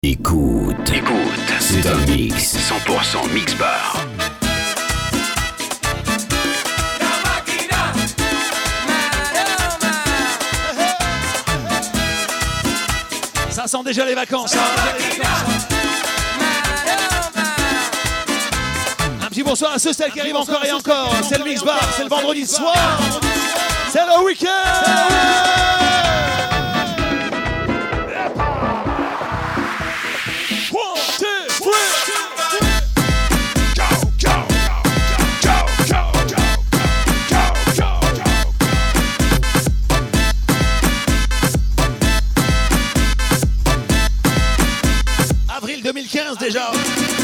Écoute, c'est un mix 100% Mix Bar. Ça sent déjà les vacances. Un petit bonsoir à ceux celles qui arrivent encore et encore. C'est le Mix Bar, c'est le vendredi soir. C'est le week-end. Avril 2015 déjà.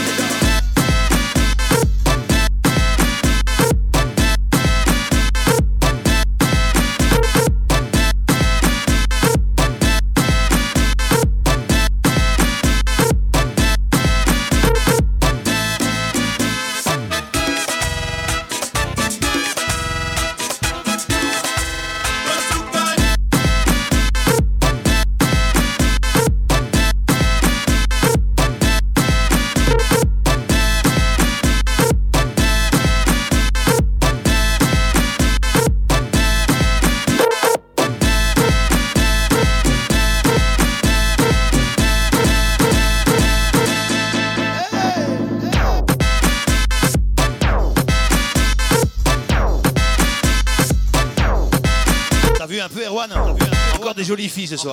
Un peu Erwan, encore des jolies filles ce soir.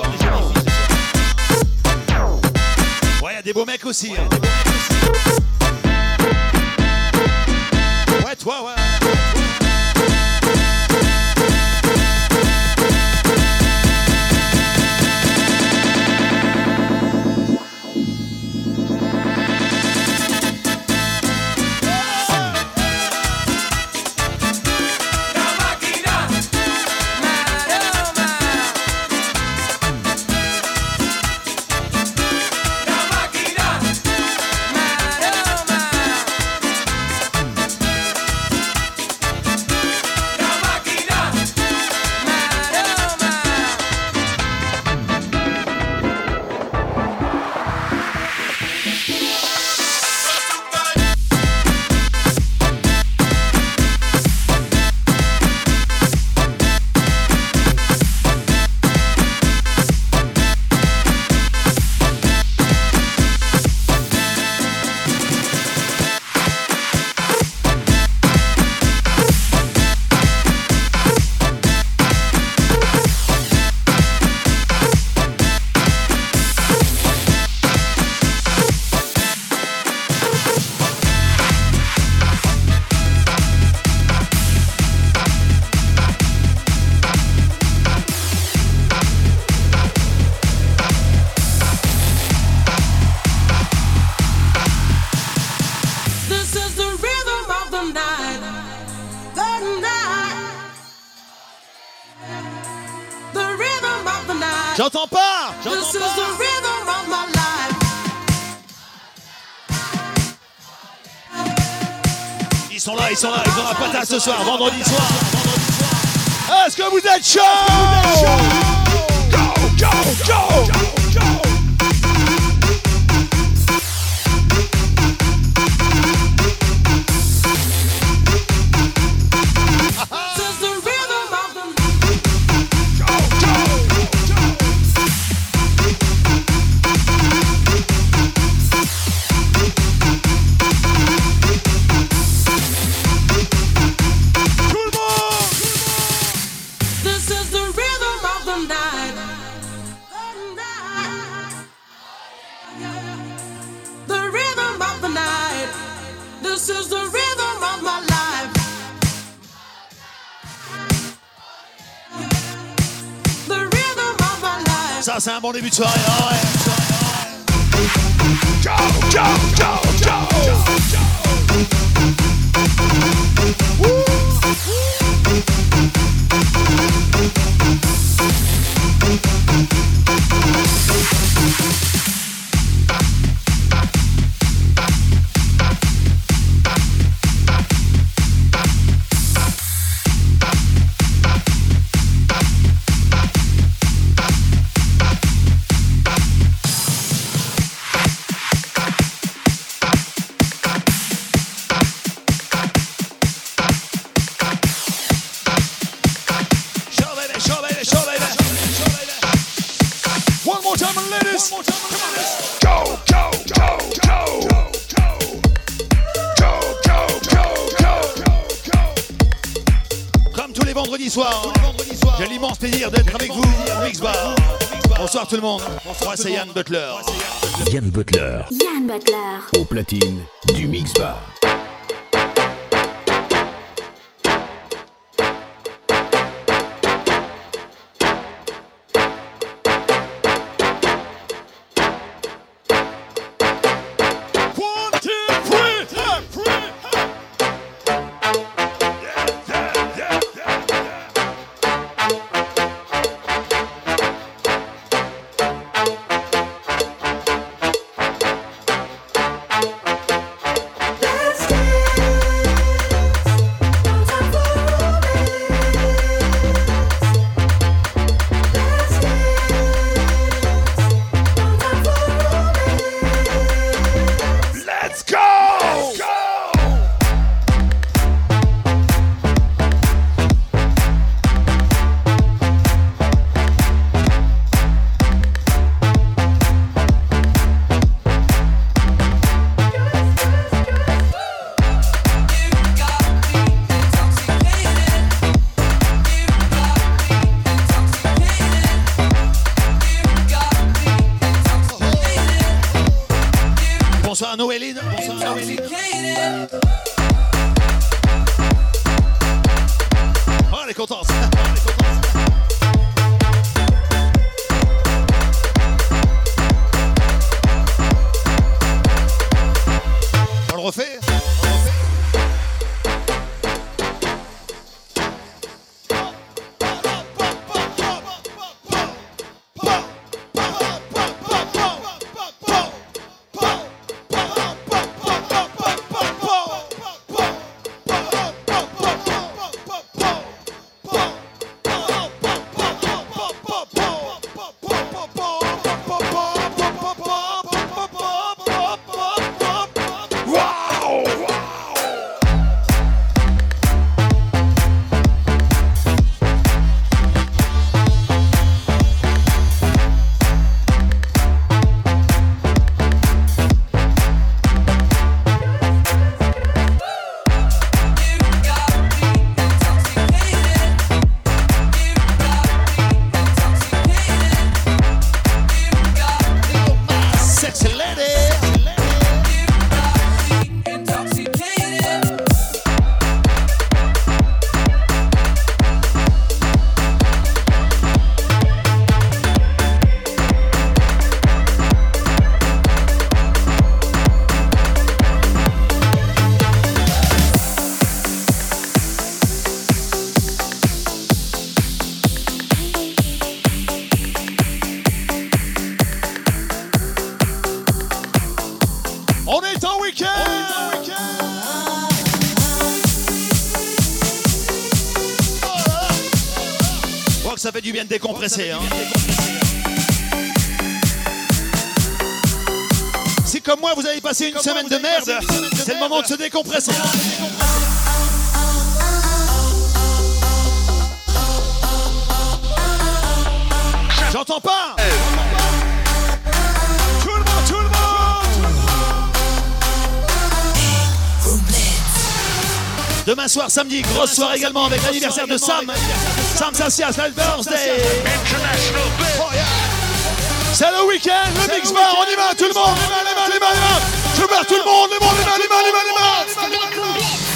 Ouais, il y a des beaux mecs aussi. Ouais, toi, ouais. J'entends pas. Ils sont là, ils ont la patate ce soir, vendredi soir. Est-ce que vous êtes chaud? Go. Ça, c'est un bon début de soirée. Comme tous les vendredis soirs, j'ai l'immense plaisir d'être avec vous au Mix Bar. Bonsoir tout le monde. Moi c'est Yann Butler. Yann Butler. Yann Butler. Au platine du Mix Bar. Bonsoir Noéline. Bonsoir Noéline. Oh, elle est contente. On le refait. Ça fait du bien de décompresser. Hein. Si comme moi vous avez passé une semaine de merde, c'est le moment de se décompresser. J'entends pas. Tout le monde. Demain soir, samedi, grosse soirée également avec l'anniversaire de Sam. Sam Sassias, la birthday. Oh, yeah. C'est le week-end, le Mix Bar, on y va, tout le monde. Les mains. Je veux tout le monde, les mains.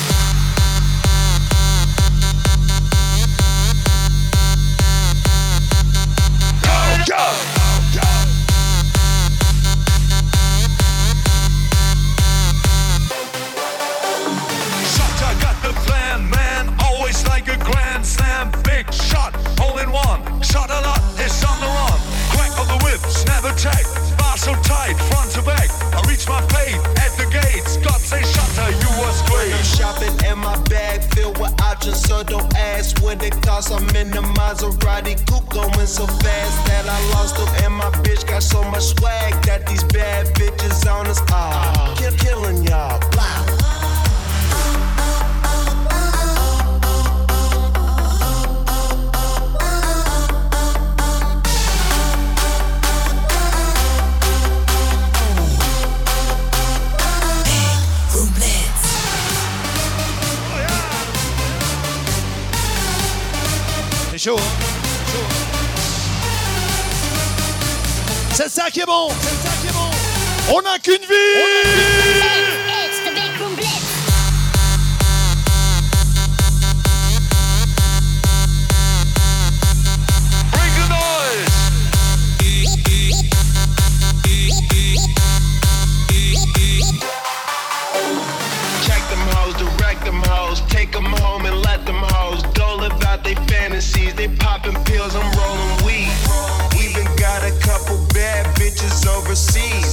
Shot a lot, it's on the run. Crack of the whip, snap attack. Bar so tight, front to back. I reach my fate at the gates. God say shutter, you was great. I'm shopping and my bag filled with options, so don't ask what it costs. I'm in the Maserati coupe going so fast that I lost them. And my bitch got so much swag that these bad bitches on us. Killing y'all. Blah. qui est bon. On n'a qu'une vie. It's the Big Room Blitz. Bring the noise. Check them hoes, direct them hoes, take them home and let them hoes dole about their fantasies. They popping pills, I'm rolling weed. Even got a couple bad bitches overseas.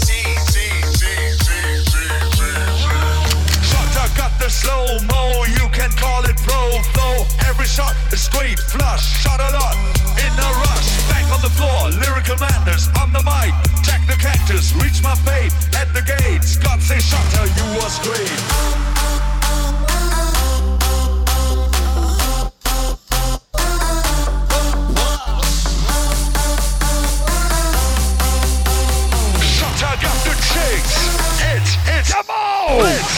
Shot, got the slow-mo, you can call it pro flow. Every shot is straight flush, shot a lot in a rush. Back on the floor, lyrical madness on the mic. Check the cactus, reach my fate at the gates. God say Shutter, you was great. Shutter got the chicks. It's a blitz.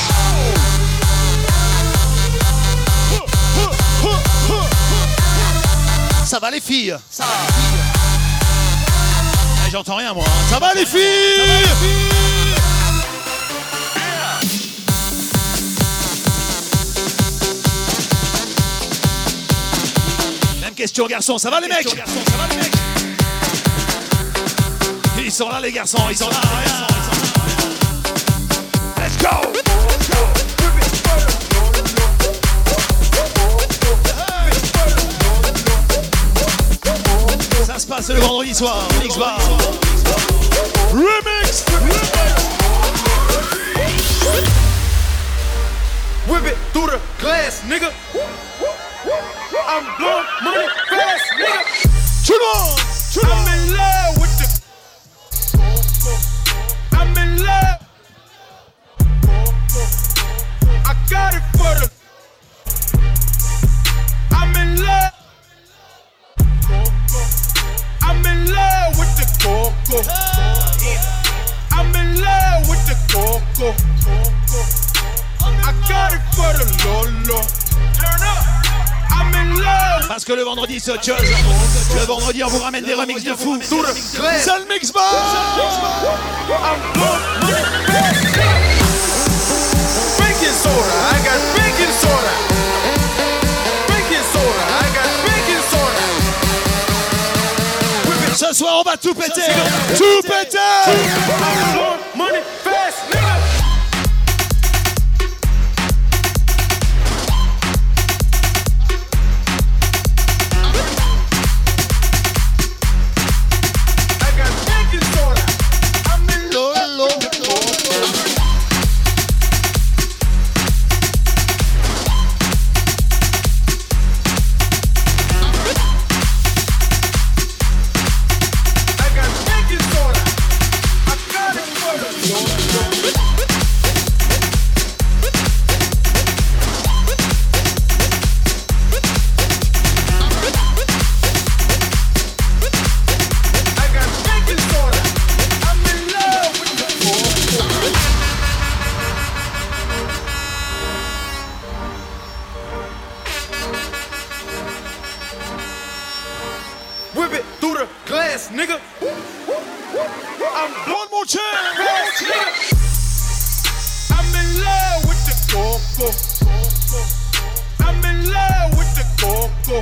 Ça va les filles. Ça va. Eh, j'entends rien moi. Ça va les filles. Même question garçons. Ça va les mecs. Ils sont là les garçons. Ils sont là. Let's go. Ça se passe le vendredi soir, Mix Bar. Remix. Whip it through the glass, nigga. I'm blowing money fast, nigga. Tout le monde. I'm in love with the. I'm in love. I got it for the. I'm in love. I'm in love with the coco. I'm in love with the coco. I got it for the Lolo. Turn up. I'm in love. Parce que le vendredi c'est autre chose. Le vendredi on vous ramène des remixes de fou. C'est le Mix Bar. I'm blowing money fast. Baking soda, I got baking soda. Baking soda, I got baking soda. Ce soir on va tout péter. Tout péter. I'm blowing money fast, nigga. I got baking soda. I'm in love. I got baking soda. I got it for the Lolo. I got baking soda. I'm in love with the coco. Whip it through the glass, nigga. I'm One more time. fast, nigga. I'm in love with the coco. I'm in love with the coco.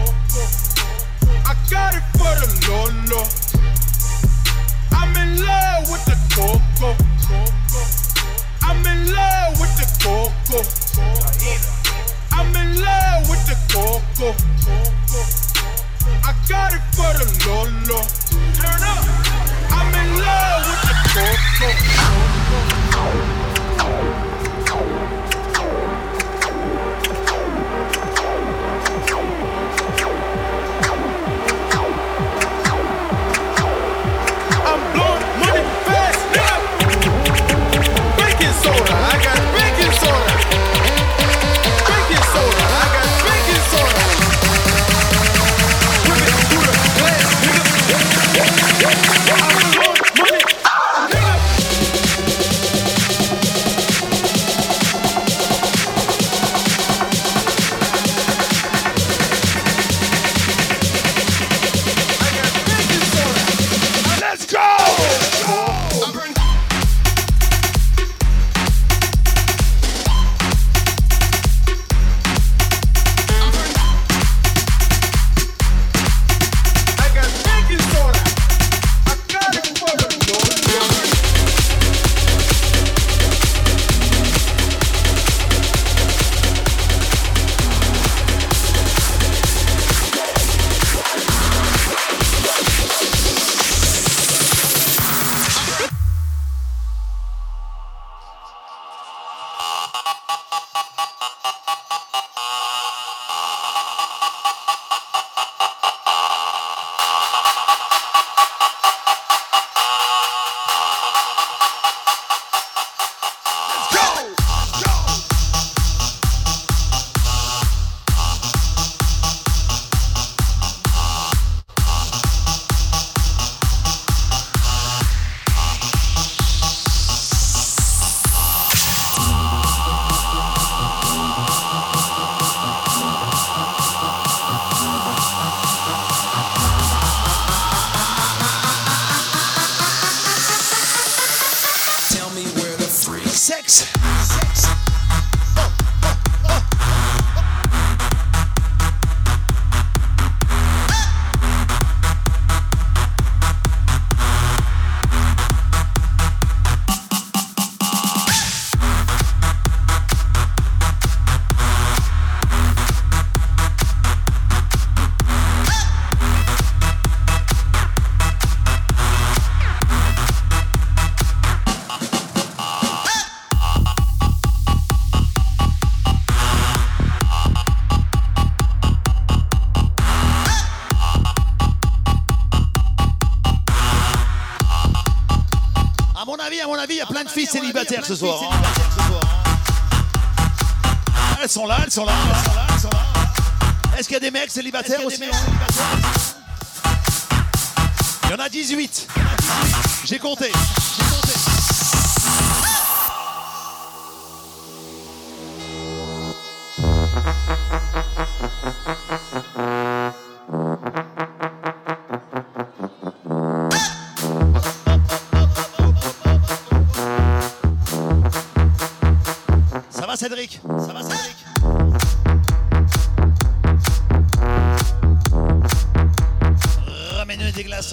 I got it for the Lolo. I'm in love with the coco. I'm in love with the coco. I'm in love with the coco. I got it for the Lolo. Turn up. I'm in love with the coco. I'm blowing money fast, nigga. Baking soda, I got baking soda. Baking soda, I got baking soda. Whip it through the glass, nigga. sexe. À mon avis, il y a plein de filles célibataires ce soir. Elles sont là. Est-ce qu'il y a des mecs célibataires aussi? Il y en a 18. J'ai compté. Cédric, ça va Cédric? Ramène-nous des glaçons,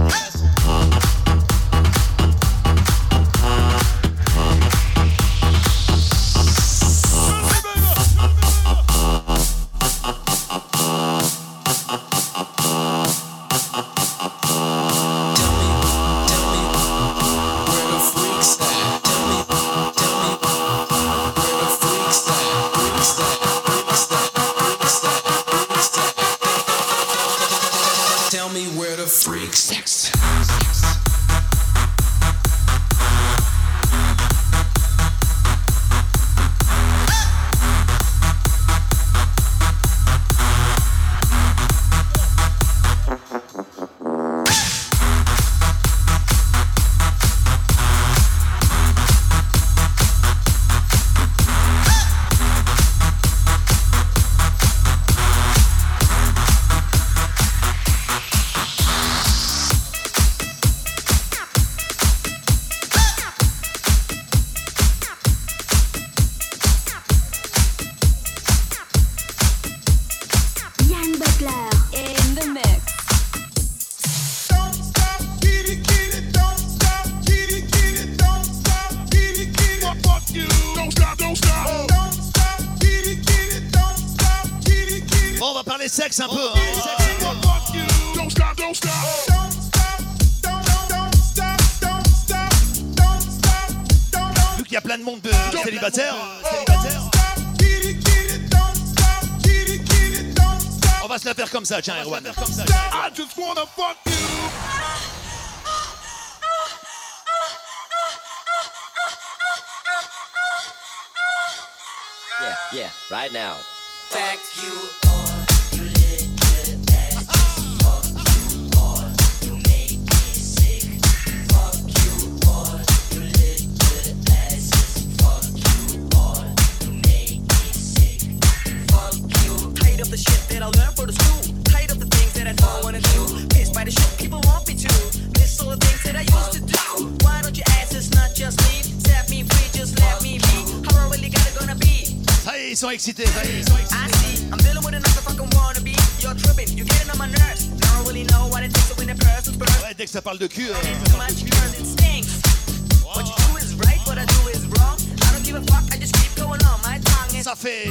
sexe un peu. Vu qu'il y a plein de monde de célibataires, on va se la faire comme ça, tiens, Erwan. Yeah, right now. Fact you. Ils sont excités. Ouais, dès que ça parle de cul. Ça fait.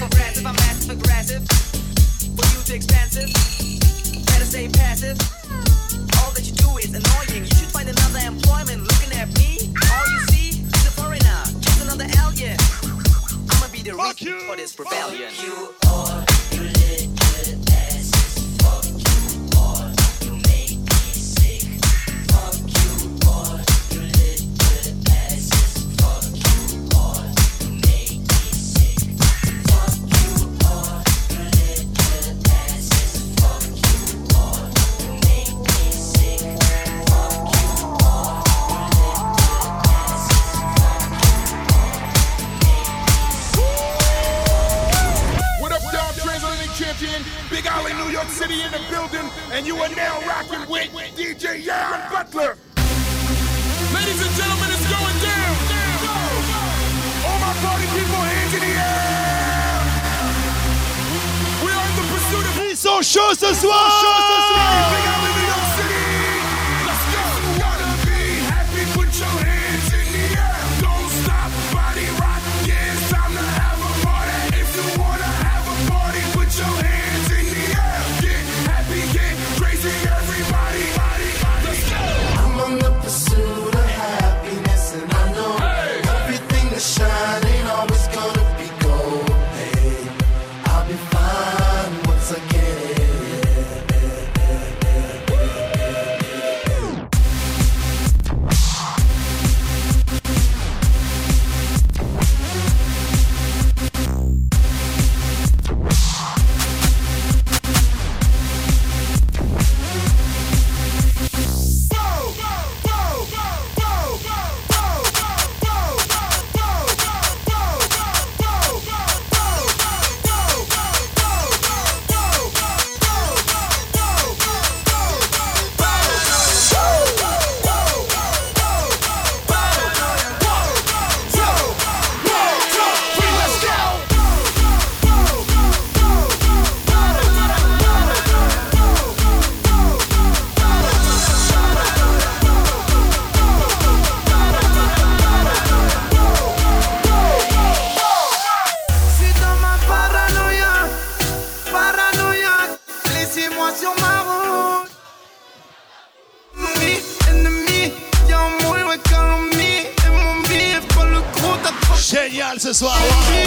All that you do is annoying. You should find another employment. Looking at me, all you see is a foreigner. Just another alien. I'ma be the reason for this rebellion. Fuck you all, you little asses. Fuck you all, you make me sick. Fuck you all, you little asses. Fuck you all, you make me sick. Fuck you all, you little asses. Fuck you all, you make me sick. Fuck you all, you little asses. Fuck you all. What up, y'all? Transatlantic champion, Big Ollie, New York City in the building, and you are now rocking with DJ Jan Butler. Ladies and gentlemen, it's going down. sont chauds ce soir. Big Alley, New York City. Let's go. If you wanna be happy, put your hands in the air. Don't stop, body rock. Yeah, it's time to have a party. If you wanna have a party, put your hands in the air. Get happy, get crazy, everybody. Let's go. I'm on the pursuit of happiness, and I know everything that shine ain't always gonna be gold. Hey, I'll be fine once I get it. Génial ce soir.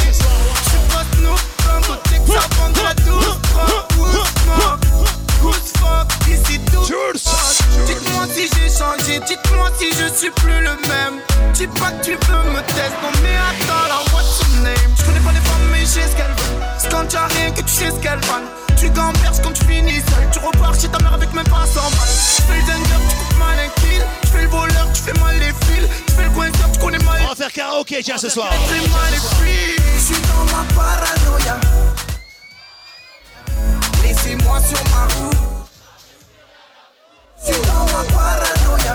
Dites-moi si j'ai changé, dites-moi si je suis plus le même. Dis pas que tu peux me tester, non mais attends là, what's your name? Je connais pas les femmes mais je sais ce qu'elles veulent. C'est quand tu as rien que tu sais ce qu'elles valent. Tu gamberges quand tu finis seul. Tu repars chez ta mère avec même pas 100 balles. Tu fais le danger, tu coupes mal un kill. Tu fais le voleur, tu fais mal les fils. Tu fais le coinceur, tu connais mal. On va faire karaoké tiens ce soir. Tu fais mal les fils. Je suis dans ma paranoïa. Laissez-moi sur ma route. Je suis dans ma paranoïa.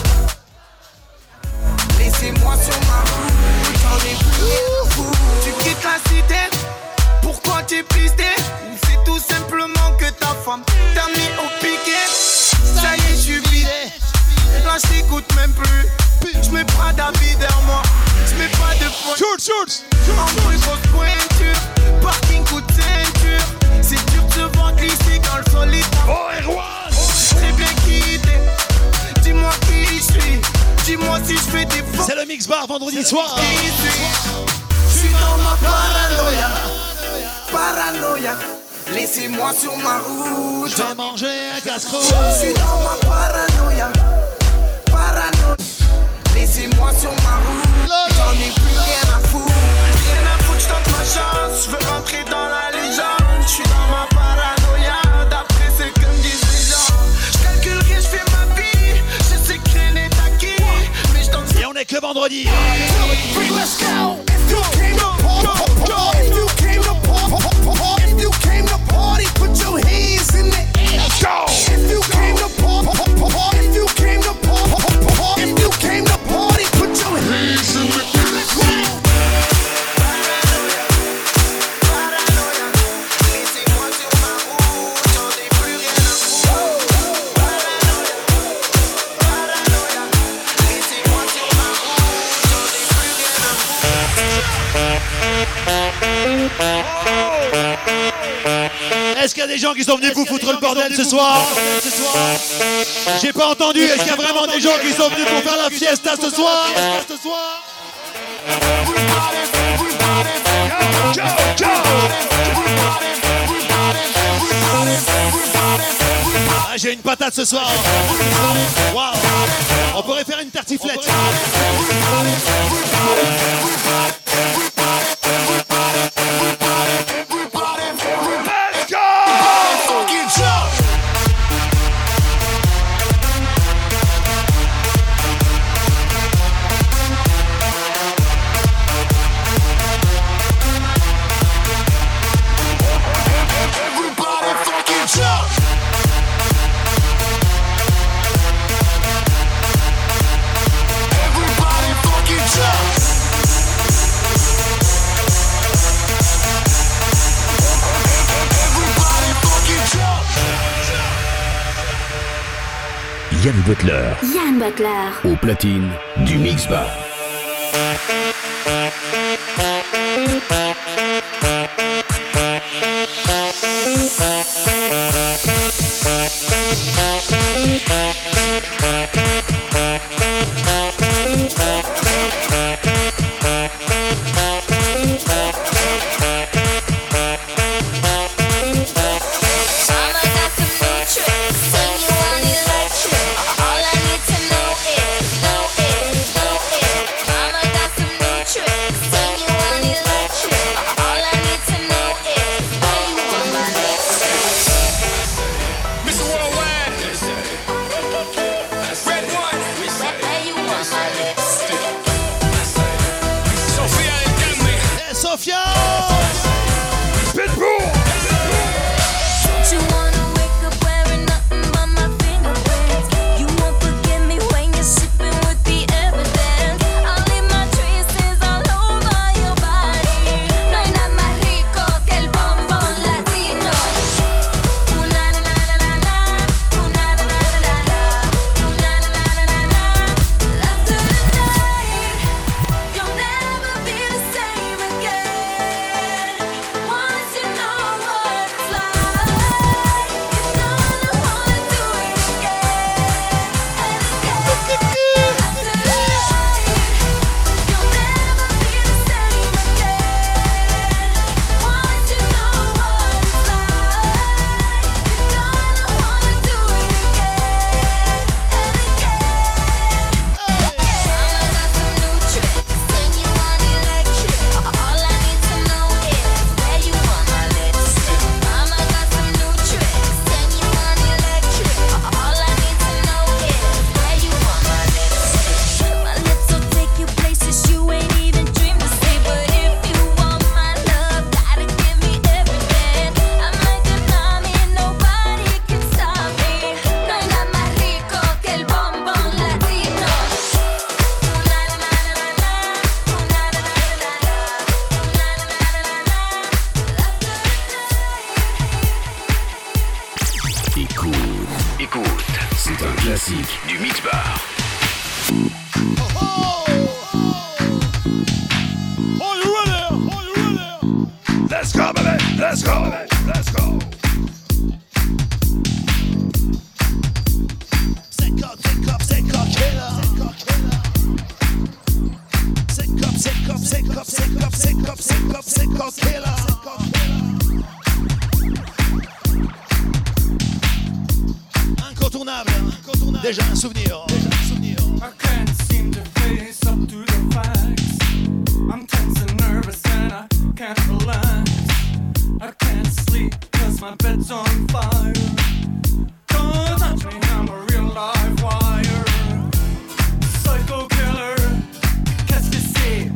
Laissez-moi sur ma route. J'en ai plus fou. Tu quittes la cité. Pourquoi t'es pisté? Ou c'est tout simplement que ta femme t'a mis au piquet? Ça y est, je suis vidé. Là, je t'écoute même plus. Je mets pas d'avis derrière moi. Je mets pas de points. Shoot. En bruit, grosse pointure. Parking, coup de ceinture. C'est dur de se voir glisser dans le solide. Oh, Erwan. Très bien quitté. Dis-moi qui je suis. Dis-moi si je fais des fautes. C'est le Mix Bar vendredi soir. Je suis dans ma paranoïa. Paranoïa. Laissez-moi sur ma route. Je vais manger un casse-croûte. Je suis dans ma paranoïa. Paranoïa. Laissez-moi sur ma route. J'en ai plus rien à foutre. Rien à foutre, je tente ma chance. Je veux rentrer dans la légende. Je suis dans ma paranoïa. D'après ce que me disent les gens. Je calcule rien, je fais ma vie. Je sais que rien n'est acquis. Mais je danse. Et on est que vendredi. Let's go. If you came to party, put your hands in the air. Let's go. If you came to party, if you came to party, if you came to party, put your hands in the air. Let's go. Laissez-moi sur ma route. J'en ai plus rien à foutre. Paranoïa. Laissez-moi sur ma route. J'en ai plus rien à Est-ce qu'il y a des gens qui sont venus vous foutre le bordel ce soir? J'ai pas entendu. Est-ce qu'il y a vraiment des gens qui sont venus pour faire la fiesta ce soir? Ah, j'ai une patate ce soir. Waouh. On pourrait faire une tartiflette. Yann Butler. Yann Butler. Au platine du Mix Bar. Déjà un souvenir. I can't seem to face up to the facts. I'm tense and nervous and I can't relax. I can't sleep cause my bed's on fire. Don't touch me, I'm a real live wire. Psycho killer, qu'est-ce que c'est?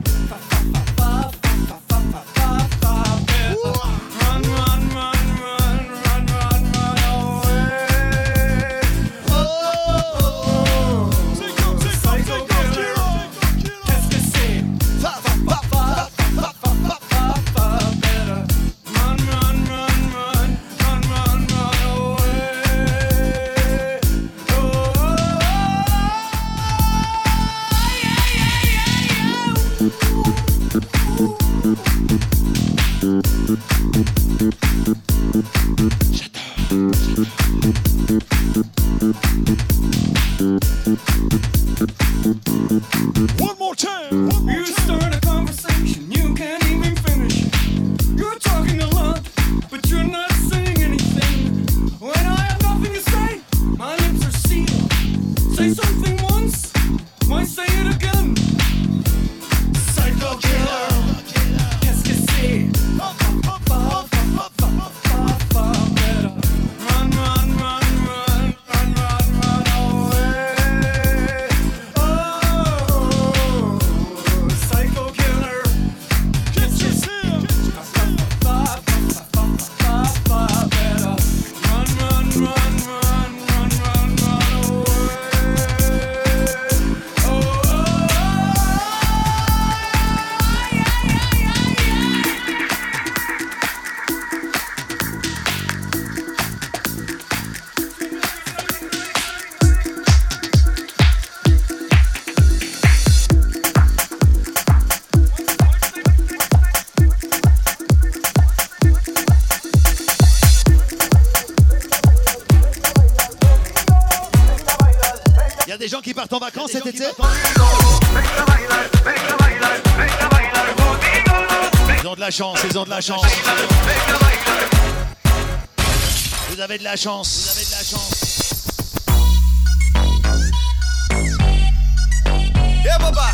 Run, run, run, run, run, run, run away. Oh, psycho killer, qu'est-ce que c'est? Better run, run, run, run, run, run, run away. Oh, One more time. One more you time. start a conversation, you can't even finish it. You're talking a lot, but you're not saying anything. When I have nothing to say, my lips are sealed. Say something once, why say it again? Psycho qui partent en vacances cet été. Ils ont de la chance, ils ont de la chance. Vous avez de la chance, vous avez de la chance. Yeah, papa.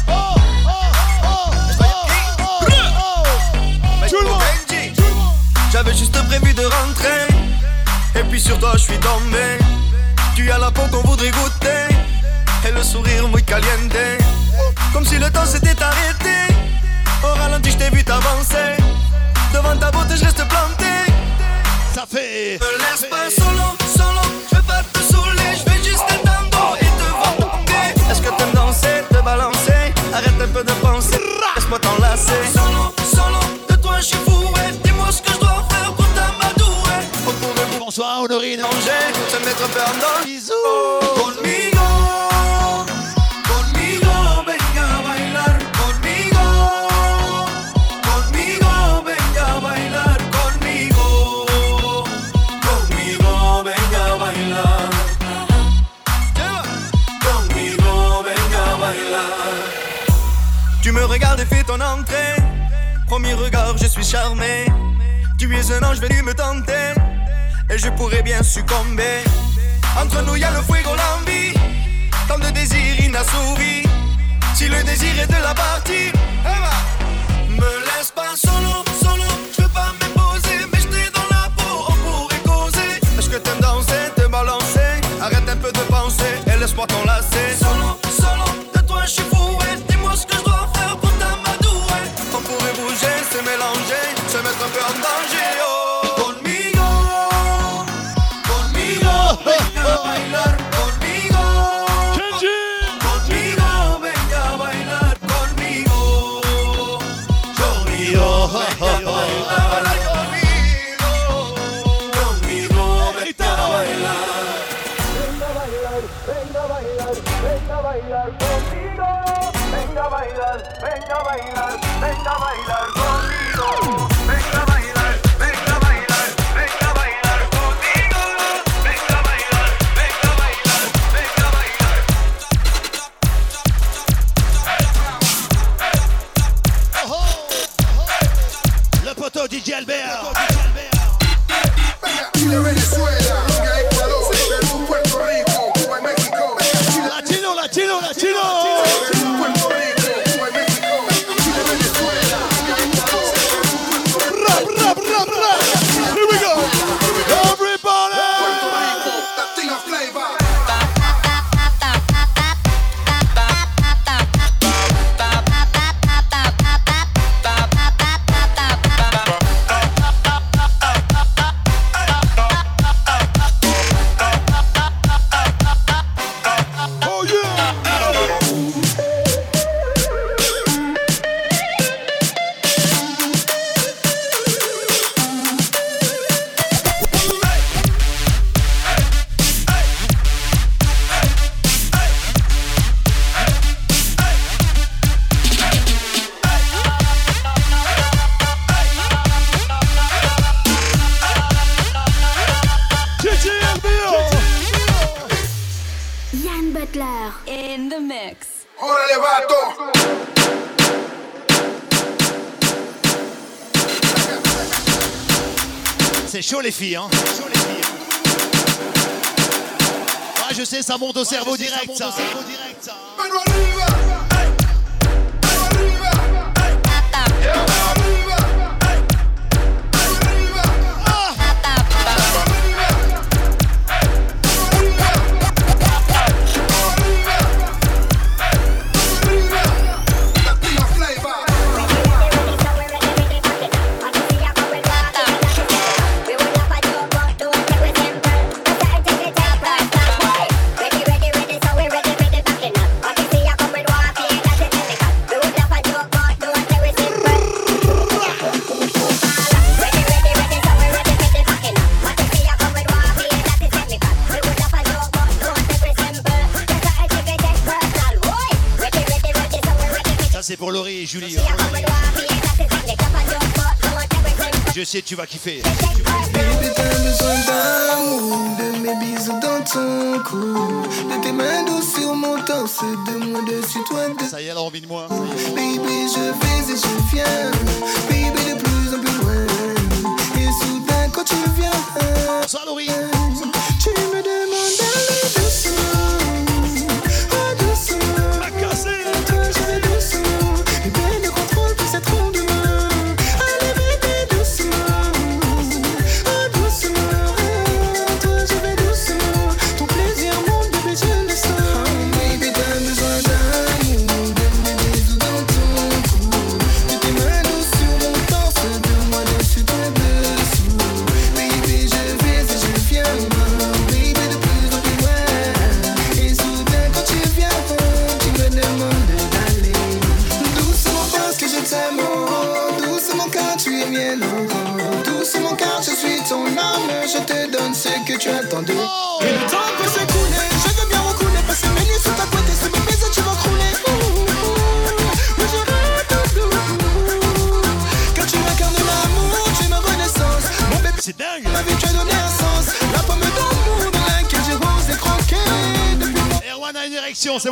Tout le monde. J'avais juste prévu de rentrer. Et puis sur toi je suis tombé. Tu as la peau qu'on voudrait goûter. Et le sourire muy caliente. Comme si le temps s'était arrêté. Au ralenti je t'ai vu t'avancer. Devant ta beauté je reste planté. Ça fait. Me laisse pas solo, solo. Je vais pas te saouler. Je vais juste t'attendre et te voir tomber. Est-ce que t'aimes danser, te balancer? Arrête un peu de penser. Laisse-moi t'enlacer. Solo, solo. De toi je suis fou. Dis-moi ce que je dois faire pour t'amadouer. On pourrait Bonsoir Honorine. manger, se mettre un peu en danse. Bisous. Conmigo, conmigo, venga a bailar. Conmigo, conmigo, venga a bailar. Conmigo, conmigo, venga a bailar. Conmigo, venga a bailar. Tu me regardes et fais ton entrée. Premier regard, je suis charmé. Tu es un ange venu me tenter. Et je pourrais bien succomber. Entre nous y'a le fuego, l'envie. Tant de désirs inassouvis. Si le désir est de la partie, me laisse pas solo, solo. Je veux pas m'imposer, mais j'étais dans la peau. On pourrait causer. Est-ce que t'aimes danser, te balancer? Arrête un peu de penser et laisse-moi t'enlacer. Solo, solo, de toi je suis fou. Dis-moi ce que je dois faire pour t'amadouer. On pourrait bouger, se mélanger, se mettre un peu en danger. Oh. Venga a bailar conmigo. Conmigo, venga a bailar conmigo. Conmigo, venga a bailar conmigo. Conmigo, venga a bailar. Venga a bailar, venga a bailar, venga a bailar conmigo. Venga a bailar, venga a bailar, venga a bailar conmigo. Venga a bailar, venga a bailar, venga a bailar conmigo. Venga a bailar, venga a bailar, venga a bailar. Le poteau DJ Albert. Chile, Venezuela, Ecuador, Perú, Puerto Rico, Cuba y México. Latino, latino, latino. Perú, Puerto Rico, Cuba y México. Chile, Venezuela, Ecuador, Perú, Rap, rap, rap, rap. Here we go. Everybody. Puerto Rico, Latina flavor. Oh yeah. Yann Butler in the mix. Órale, vato. C'est chaud les filles, hein. Ah, je sais, ça monte au cerveau direct, ça. Mano arriba. Mano arriba. Mano arriba. Mano arriba. Latina flavor. Ça, c'est pour Laurie et Julie. Je sais, tu vas kiffer. Baby, turn the sun down. mes bisous dans ton cou. De tes mains douces sur mon torse, de moi dessus toi de. Ça y est, elle a envie de moi. Baby, je vais et je viens. Baby, de plus en plus loin. Et soudain, quand tu viens. Bonsoir, Laurie. Tu me demandes d'aller doucement. Oh, doucement. Ma cassé. Toi, je vais doucement. Et bien, ne contrôle plus cette ronde de main. Allez, bébé, doucement. Oh, doucement. Toi, je vais doucement. Ton plaisir, mon bébé, je le sens. Oh, baby, t'as besoin d'amour. De mes bisous dans ton cou. De tes mains douces sur mon torse. De moi dessus, toi dessous. Baby, je vais et je viens. Baby, de plus en plus loin. Et soudain, quand tu viens, tu me demandes d'aller doucement parce que je t'aime. Oh, doucement car tu es mienne. Oh, doucement car je suis ton âme. Je te donne ce que tu attends de. Et le temps peut s'écouler. Je veux bien recouler. Passer mes nuits sous ta couette. Et ce bébé, tu vas crouler. Oui, je rêve de nous. Car tu m'incarnes l'amour, tu es ma renaissance. Mon bébé, C'est dingue. ma vie, tu as donné un sens. La pomme d'amour dans laquelle j'ai rosé croqué. Depuis mon Erwan a une érection, c'est bon.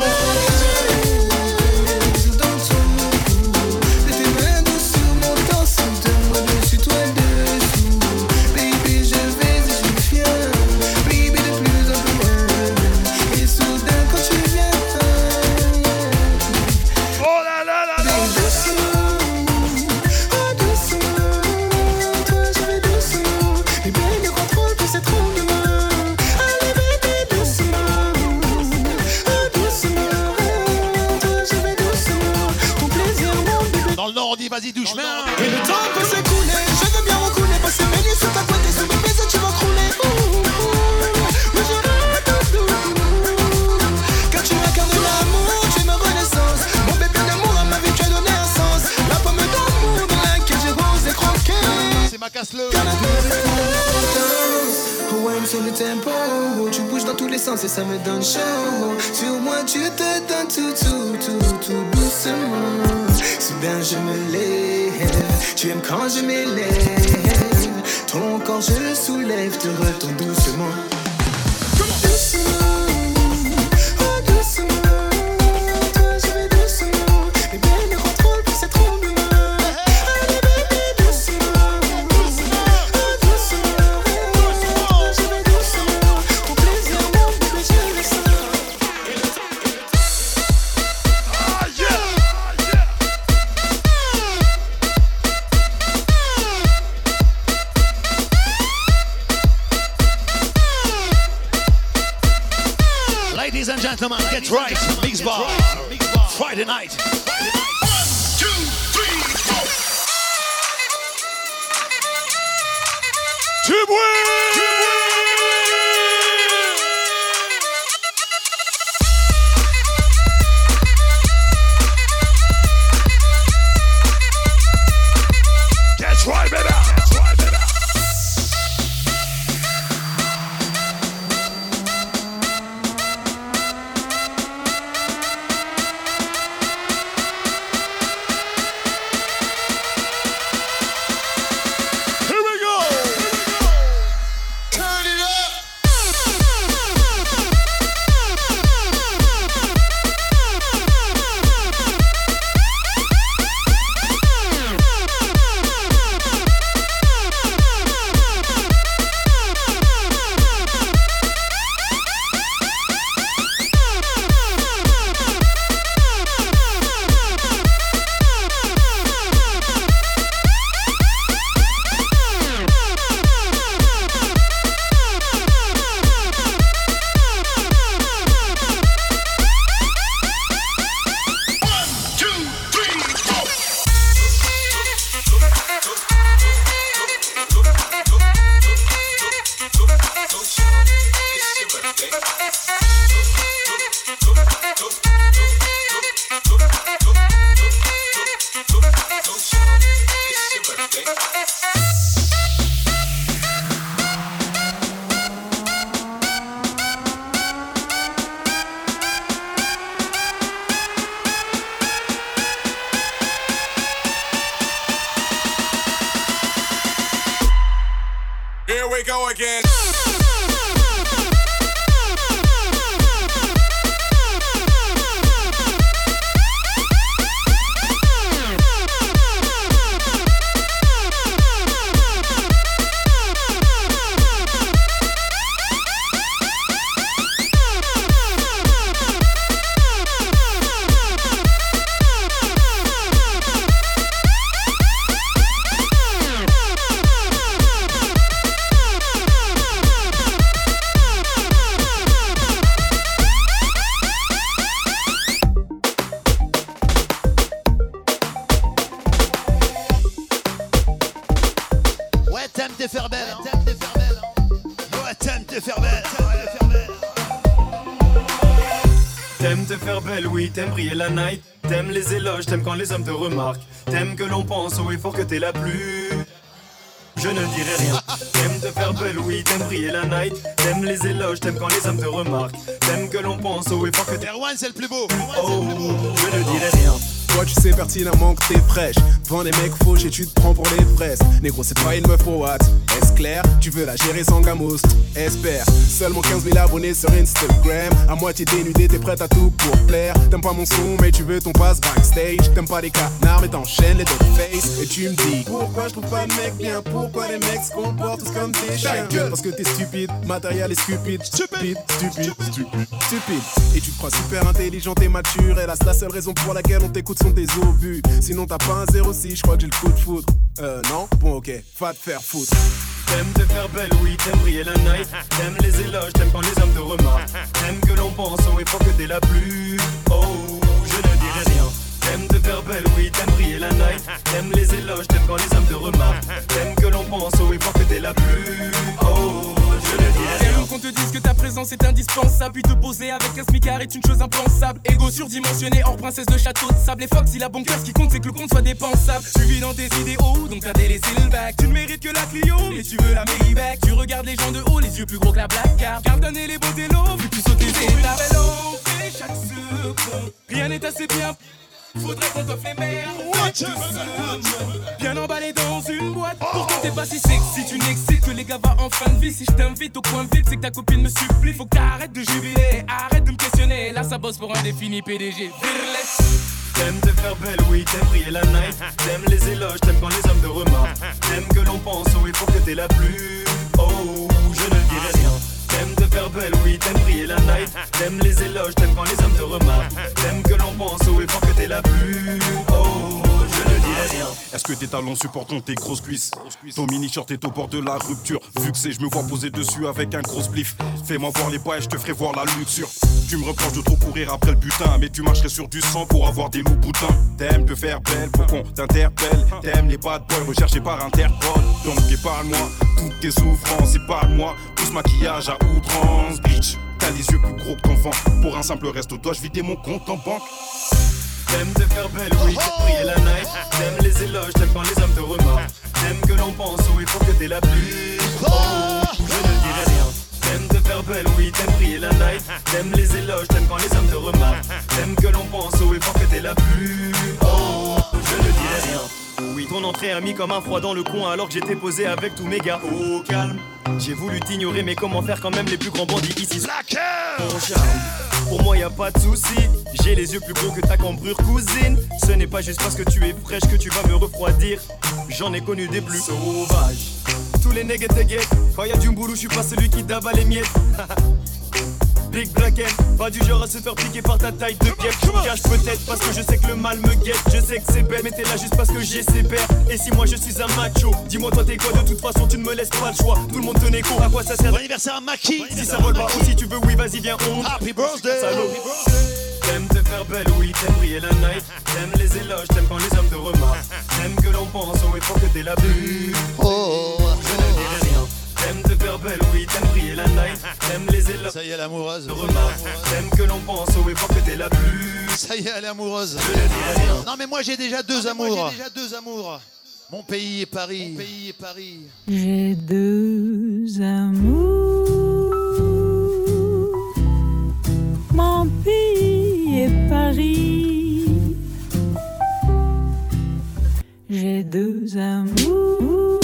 bisou dans ton cou. De tes mains douces sur mon torse. De moi dessus, toi dessous. Baby, je vais et je viens. Baby, de plus en plus loin. Et soudain, quand tu viens. Oh là là là là. Doucement, oh doucement, toi je vais doucement. Et bien ne contrôle plus cette ronde de main. Allez bébé doucement, oh doucement, toi je vais doucement. Ton plaisir mon bébé. Dans le Nord, on dit vas-y, douche-main. Et le temps peut s'écouler, je veux bien recouler. Passer mes nuits sous ta couette et sous mes baisers tu vas crouler. Oui je rêve de nous. Car tu incarnes l'amour, tu es ma renaissance. Mon bébé d'amour à ma vie, tu as donné un sens. La pomme d'amour dans laquelle j'ai rosé croqué. C'est ma casse-le. Oh ouais, sur le tempo, oh, tu bouges dans tous les sens et ça me donne chaud. Sur moi tu te donnes tout doucement. Soudain je me lève, tu aimes quand je m'élève. Ton corps je le soulève, te retourne doucement. Doucement, oh doucement, toi je vais doucement. Et bien ne contrôle plus cette ronde de main. Allez bébé doucement, oh doucement, toi je vais doucement. Ton plaisir mon bébé je le sens. Ah, yeah. Ladies and gentlemen, get right. Mix Bar. Friday night. 2, 3, 4. Du bruit. Get right, baby. Here we go. Turn it up. Here we go again. te faire belle. Ouais, t'aimes te faire belle. T'aimes te faire belle, oui, t'aimes briller la night. T'aimes les éloges, t'aimes quand les hommes te remarquent. T'aimes que l'on pense au effort que t'es la plus. Je ne dirai rien. T'aimes te faire belle, oui, t'aimes briller la night. T'aimes les éloges, t'aimes quand les hommes te remarquent. T'aimes que l'on pense au effort que t'es. Erwan, c'est le plus beau. Oh, je ne dirai rien. Toi tu sais pertinemment que t'es fraîche. Devant des mecs fauches et tu te prends pour les fraises. Négro c'est pas une meuf au what. Est-ce clair? Tu veux la gérer sans gamos. Espère. Seulement 15 000 abonnés sur Instagram. À moitié dénudé t'es prête à tout pour plaire. T'aimes pas mon son mais tu veux ton pass backstage. T'aimes pas les canards mais t'enchaînes les dog face. Et tu me dis pourquoi je trouve pas de mec bien. Pourquoi les mecs se comportent tous comme des chiens. Parce que t'es stupide, matériel est stupide. Stupide. Et tu te crois super intelligente et mature. Et là c'est la seule raison pour laquelle on t'écoute sont tes obus. Sinon t'as pas un 06, je crois que j'ai le coup de foudre. Non? Bon ok, va te faire foutre. T'aimes te faire belle, oui, t'aimes briller la night. T'aimes les éloges, t'aimes quand les hommes te remarquent. T'aimes que l'on pense au effort que t'es la plus. Oh, je ne dirai rien. T'aimes te faire belle, oui, t'aimes briller la night. T'aimes les éloges, t'aimes quand les hommes te remarquent. T'aimes que l'on pense au effort que t'es la plus. Oh, je ne dirai rien. Qu'on te dise que ta présence est indispensable. Puis te poser avec un smicard est une chose impensable. Ego surdimensionné, hors princesse de château de sable. Et Fox, il a bon cœur, ce qui compte c'est que le compte soit dépensable. Tu vis dans tes idéaux, donc t'as délaissé le bac. Tu ne mérites que la Clio, mais tu veux la Maybach. Tu regardes les gens de haut, les yeux plus gros que la Black Card. Garde-donner les beaux délos, vu que tu sautes les étapes. Chaque seconde, rien n'est assez bien. Faudrait qu'on t'offre les meilleurs. Bien emballé dans une boîte. Pourtant t'es pas si sexy, tu n'excites que les gars va en fin de vie. Si je t'invite au coin vide, c'est que ta copine me supplie. Faut que t'arrêtes de jubiler, arrête de me questionner. Là ça bosse pour un défini PDG. T'aimes te faire belle, oui, t'aimes briller la night. T'aimes les éloges, t'aimes quand les hommes te remarquent. T'aimes que l'on pense au effort que t'es la plus. Oh, je ne dirai rien. T'aimes te faire belle, oui, t'aimes briller la night. T'aimes les éloges, t'aimes quand les hommes te remarquent. T'aimes que l'on pense au effort que t'es la plus. Oh, je ne dirai rien. Est-ce que tes talons supportent tes grosses cuisses? Ton mini-short est au bord de la rupture. Vu que c'est, je me vois poser dessus avec un gros spliff. Fais-moi voir les pas et je te ferai voir la luxure. Tu me reproches de trop courir après le butin, mais tu marcherais sur du sang pour avoir des loups boutins. T'aimes te faire belle pour qu'on t'interpelle. T'aimes les bad boys recherchés par Interpol. Donc épargne-moi toutes tes souffrances, épargne-moi tout ce maquillage à outrance. Bitch, t'as les yeux plus gros que ton vent. Pour un simple resto, dois-je vider mon compte en banque? T'aimes te faire belle, oui, t'aimes briller la night. T'aimes les éloges, t'aimes quand les hommes te remarquent. T'aimes que l'on pense au effort que t'es la plus. Oh, je ne dirai rien. T'aimes te faire belle, oui, t'aimes briller la night. T'aimes les éloges, t'aimes quand les hommes te remarquent. T'aimes que l'on pense au effort que t'es la plus. Oh, je ne dirai rien. Oui, ton entrée a mis comme un froid dans le coin alors que j'étais posé avec tous mes gars. Au calme, j'ai voulu t'ignorer, mais comment faire quand même les plus grands bandits ici? Mon charme, pour moi y a pas de souci. J'ai les yeux plus gros que ta cambrure cousine. Ce n'est pas juste parce que tu es fraîche que tu vas me refroidir. J'en ai connu des plus sauvages. Tous les nègres te guettent. Quand y a du mboulou, je suis pas celui qui d'abale les miettes. Big Black M, pas du genre à se faire piquer par ta taille de pied. Je me cache peut-être parce que je sais que le mal me guette. Je sais que c'est bête, mais t'es là juste parce que j'ai ses pères. Et si moi je suis un macho, dis-moi toi t'es quoi? De toute façon tu ne me laisses pas le choix. Tout le monde tenait con, à quoi ça sert? Bon anniversaire à Maki. Si ça vole pas ou si tu veux, oui vas-y viens on. Happy birthday. Salaud. T'aimes te faire belle, oui, t'aimes briller la night. T'aimes les éloges, t'aimes quand les hommes te remarquent. T'aimes que l'on pense au effort que t'es la plus. Oh, je ne dirai rien. T'aimes te faire belle, oui, t'aimes briller la night. T'aimes les éloges. Ça y est, l'amoureuse. T'aimes que l'on pense au effort que t'es la plus. Ça y est, elle est amoureuse. Je ne dirai rien. Non, mais moi j'ai déjà deux amours. Mon pays et Paris. J'ai deux amours. Mon pays et Paris. J'ai deux amours.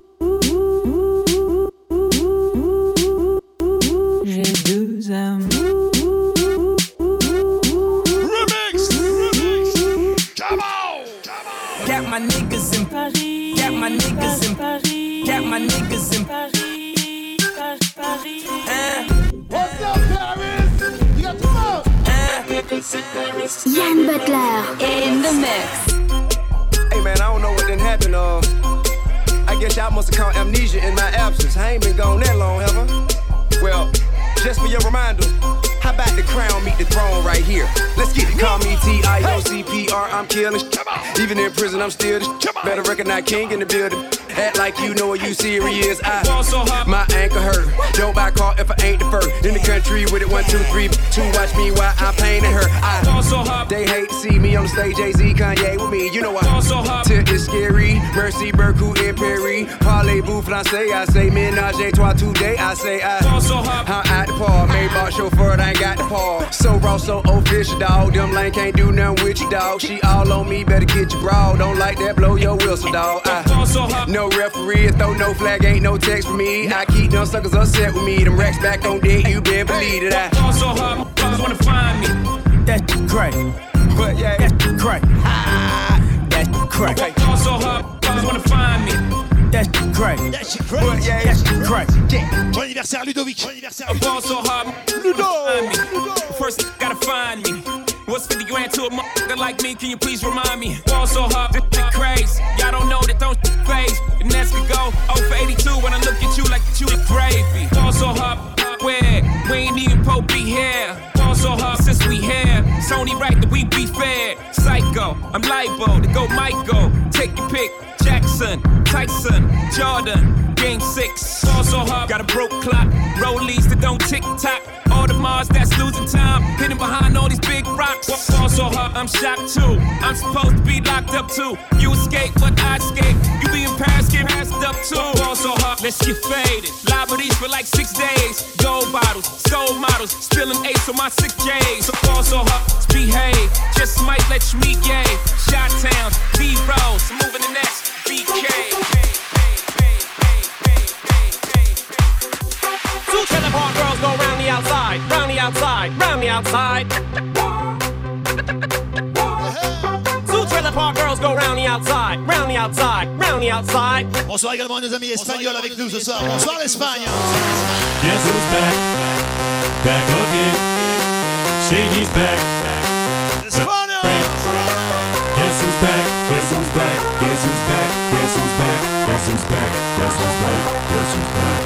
J'ai deux amours. Remix. Come on. Got my niggas in Paris. Got my niggas in Paris. Got my niggas in Paris. Paris. What's up, Paris? You got two more. Yann Butler in the mix. Hey man, I don't know what done happened. I guess y'all must have caught amnesia in my absence. I ain't been gone that long, have I? Well, just for your reminder, how about the crown meet the throne right here? Let's get it. Call me T.I.O.C.P.R. I'm killing. Even in prison, I'm still the. Better recognize king in the building. Act like you know what you serious. My ankle hurt. Don't buy a car if I ain't the first. In the country with it 1, 2, 3, 2. Watch me while I'm painting her. They hate to see me on the stage. Jay-Z, Kanye with me. You know why? Till it's scary. Mercy, Berku, and Perry. Parlez-vous, français. I say ménage à trois today. I say I'm at the park. Maybach chauffeur, I ain't got the paw. So raw, so official, dog. Them lane can't do nothing with you, dog. She all on me, better get your broad. Don't like that, blow your whistle, dog. No referee, throw no flag, ain't no text for me. I keep them suckers upset with me. Them racks back on deck, you better believe it. Also hard, motherfuckers wanna find me. That shit crack. But yeah, that shit crack. That shit crack. Also hard, motherfuckers wanna find me. That shit crack. That shit crack. But yeah, that shit crack. Bon anniversaire Ludovic. Bon anniversaire. Also hard, Ludo. First, gotta find me. What's 50 grand to a motherfucker like me? Can you please remind me? Ball so hard, this shit crazy. Y'all don't know that don't phase. The Nets could go 0 for 82 when I look at you like you a gravy. Ball so hard, where we ain't even Pope be here. Ball so hard since we here. It's only right that we be fair. Psycho, I'm libo to go Michael. Take your pick. Jackson, Tyson, Jordan, Game 6. Ball so hard, got a broke clock. Rollies that don't tick-tock. All the Mars that's losing time, hidden behind all these big rocks. Ball so hard, I'm shocked too. I'm supposed to be locked up too. You escape, but I escape. You be in Paris, get passed up too. Ball so hard, let's get faded. Liberties for like 6 days. Gold bottles, soul models, spilling ace on my sick days. So ball so hard, behave. Just might let you meet gay. Shot towns, B-rolls, moving the next BK. Two trailer park girls go round the outside, round the outside, round the outside. Two trailer park girls go round the outside, round the outside, round the outside. Bonsoir également à nos amis espagnols avec nous ce soir. Bonsoir l'Espagne. Guess who's back? Back again. Shady's back. España. Guess who's back? Guess who's back? Guess who's back? Guess who's back? Guess who's back? Guess who's back? Guess who's back?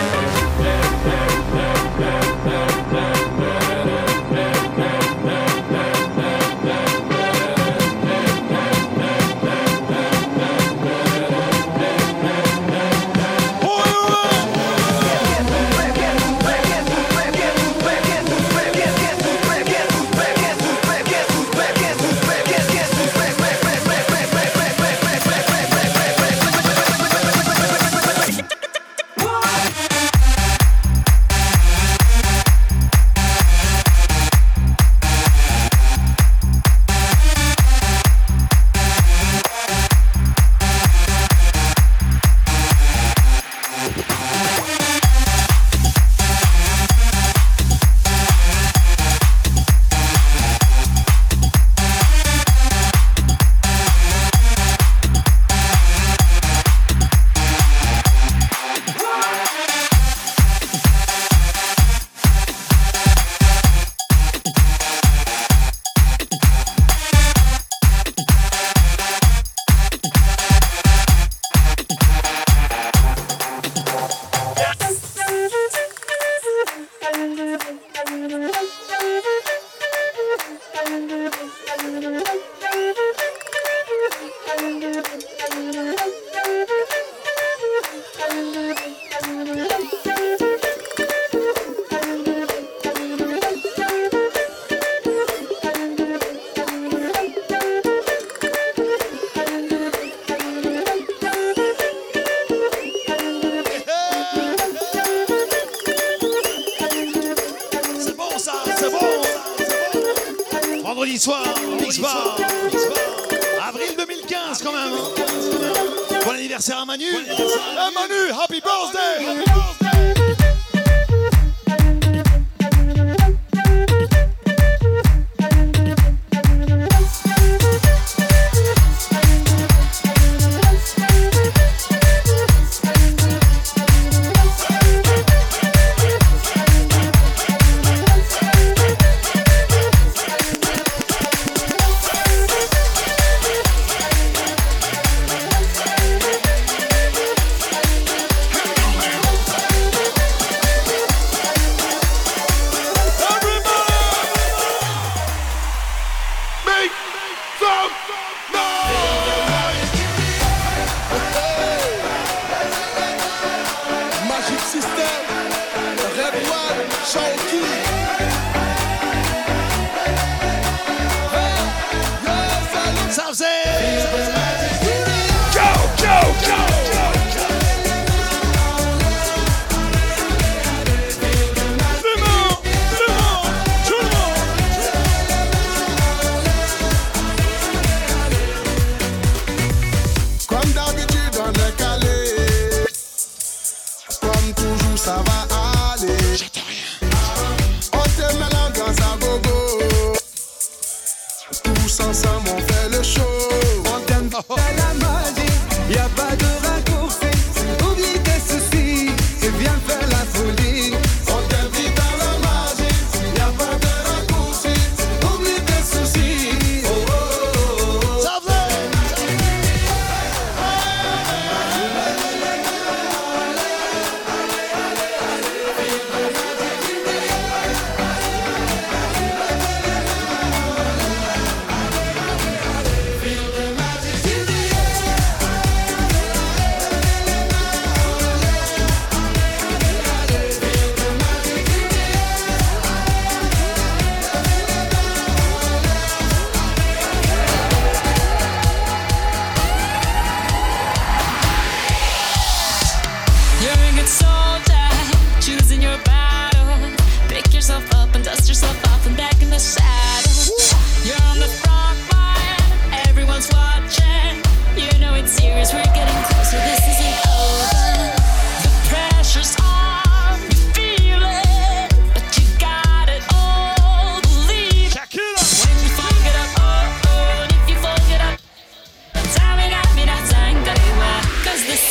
Vendredi soir, Mix Bar. Avril 2015 quand même. Bon anniversaire à Manu. Manu, happy birthday.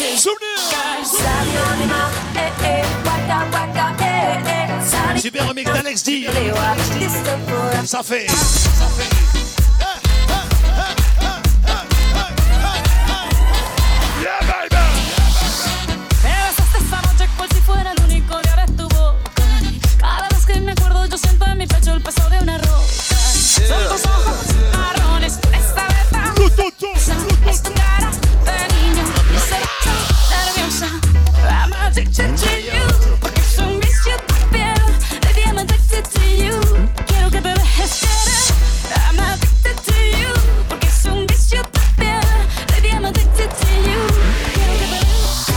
Super remix d'Alex D. Ça fait. El peso de una roca. Son tus ojos marrones, esta letra. Es tu cara de niño, esa nerviosa. I'm addicted to you, porque es un vicio tu piel. Baby, I'm addicted to you. Quiero que me dejes querer. I'm addicted to you, porque es un vicio tu piel. Baby, I'm addicted to you. Quiero que me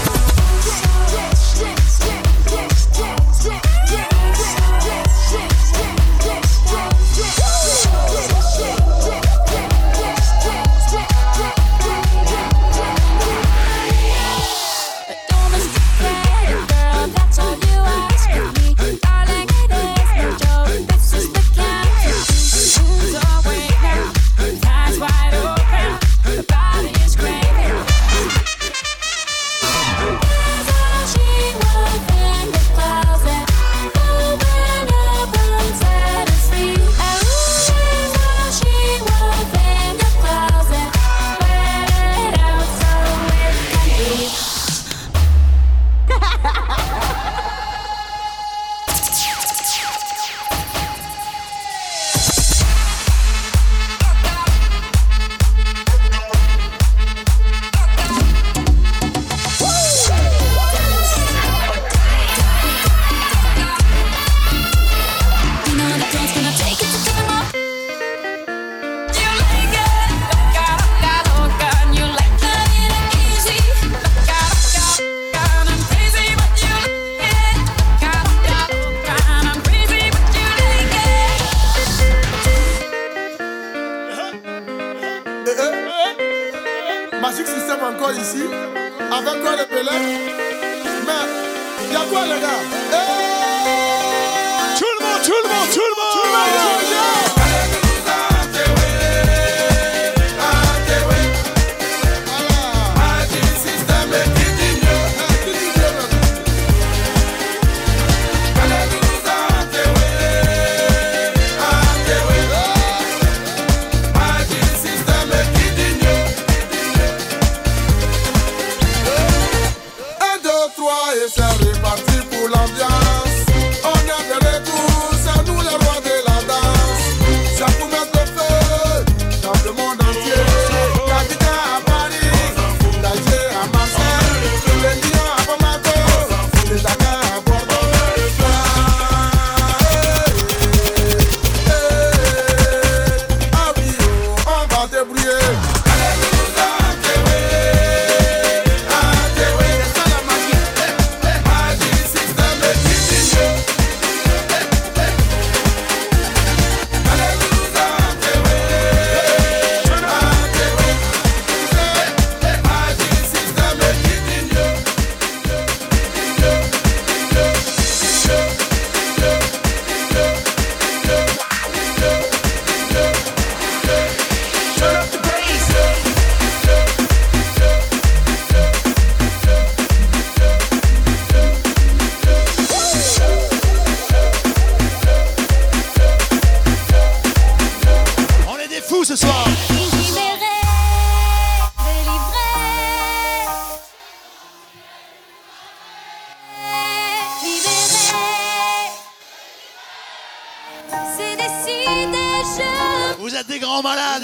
Magic System encore ici, avec quoi les Pelé. Mais, y'a quoi les gars? Tout le monde, tout le monde, tout le monde, tout le monde. C'est reparti pour l'ambiance. On est de retour, c'est nous les rois de la danse. C'est pour mettre le feu dans le monde entier. Capitaine à Paris, d'Alger à Marseille, les Lions à Bamako, les Dakar à Bordeaux. Ah oui, on va débrouiller. Ce soir. Vous êtes des grands malades.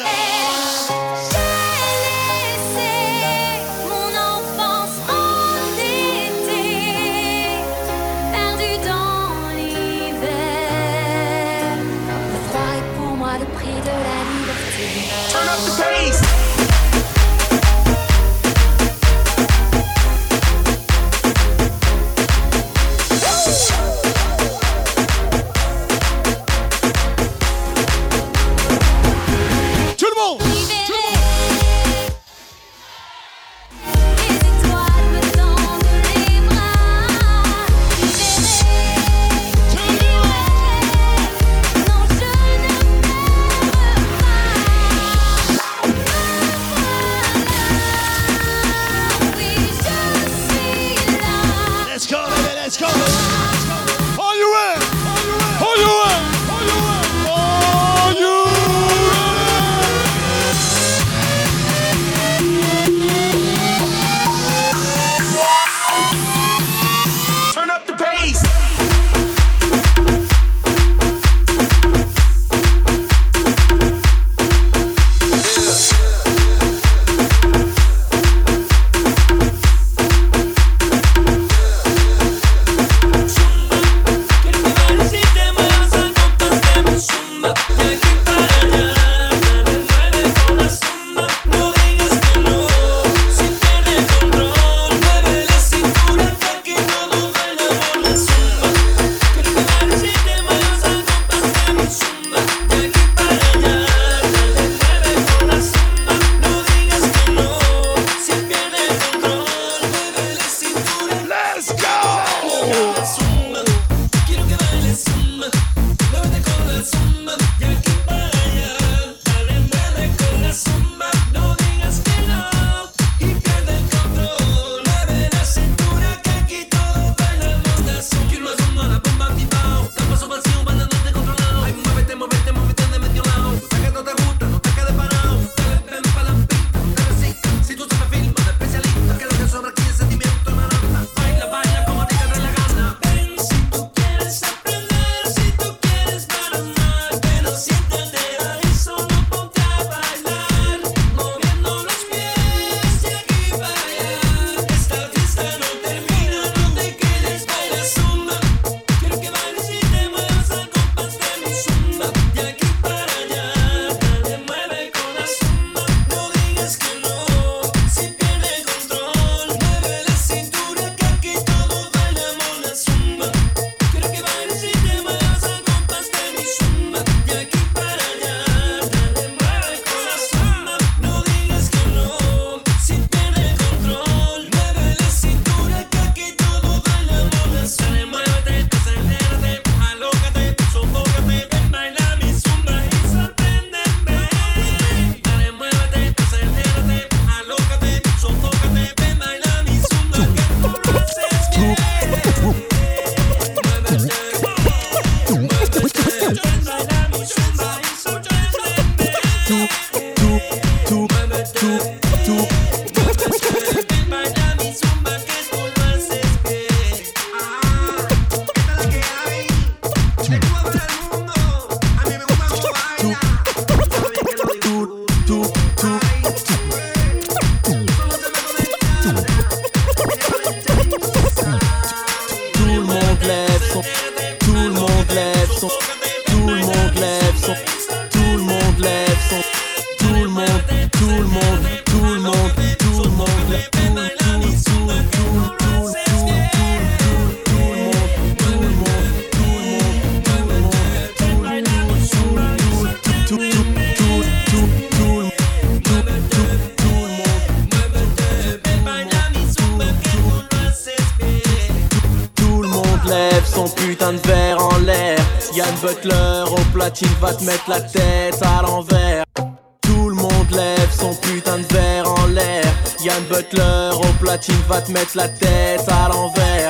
Va te mettre la tête à l'envers. Tout le monde lève son putain de verre en l'air. Yann Butler au platine va te mettre la tête à l'envers.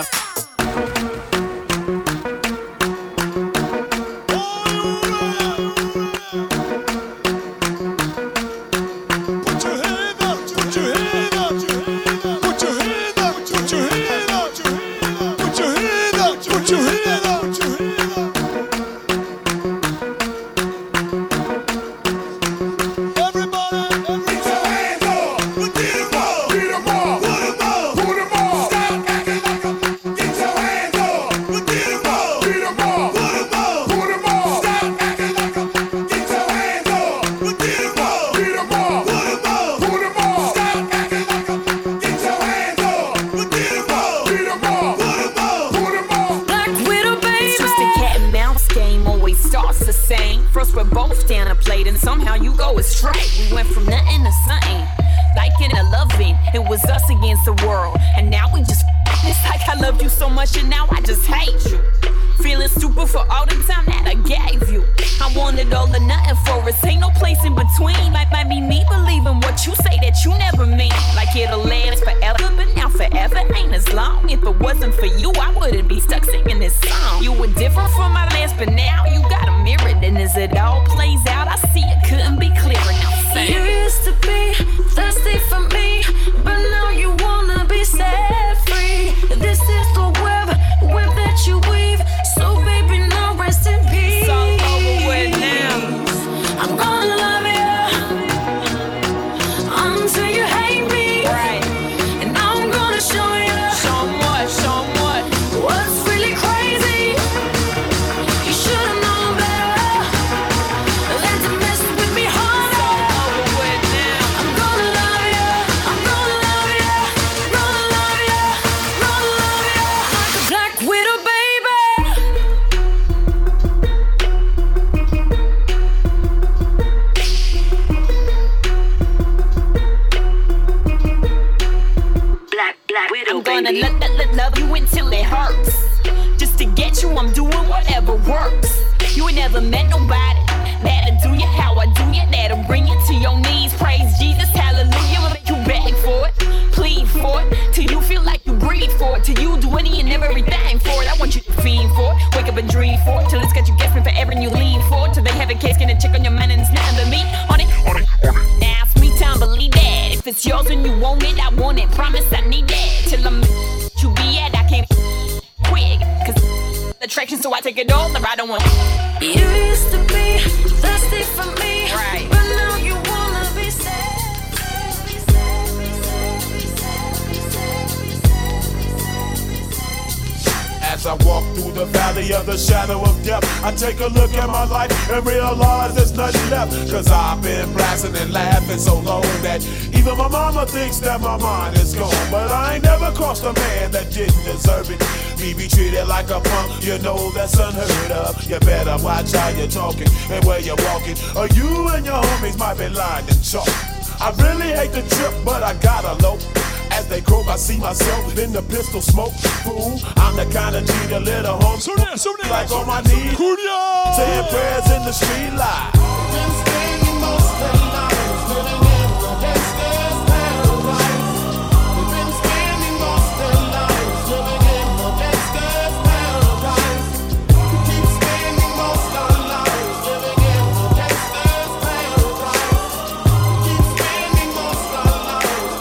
As I walk through the valley of the shadow of death, I take a look at my life and realize there's nothing left. Cause I've been blasting and laughing so long that even my mama thinks that my mind is gone. But I ain't never crossed a man that didn't deserve it. Me be treated like a punk, you know that's unheard of. You better watch how you're talking and where you're walking, or you and your homies might be lying in chalk. I really hate the trip, but I gotta low. As they croak, I see myself in the pistol smoke. Fool, I'm the kind of G the little home like on my knees, saying prayers in the street light. Been spending most of the night living in the gangster's paradise. We've been spending most of the night living in the gangster's paradise. We keep spending most of our lives living in the gangster's paradise. We keep spending most of our lives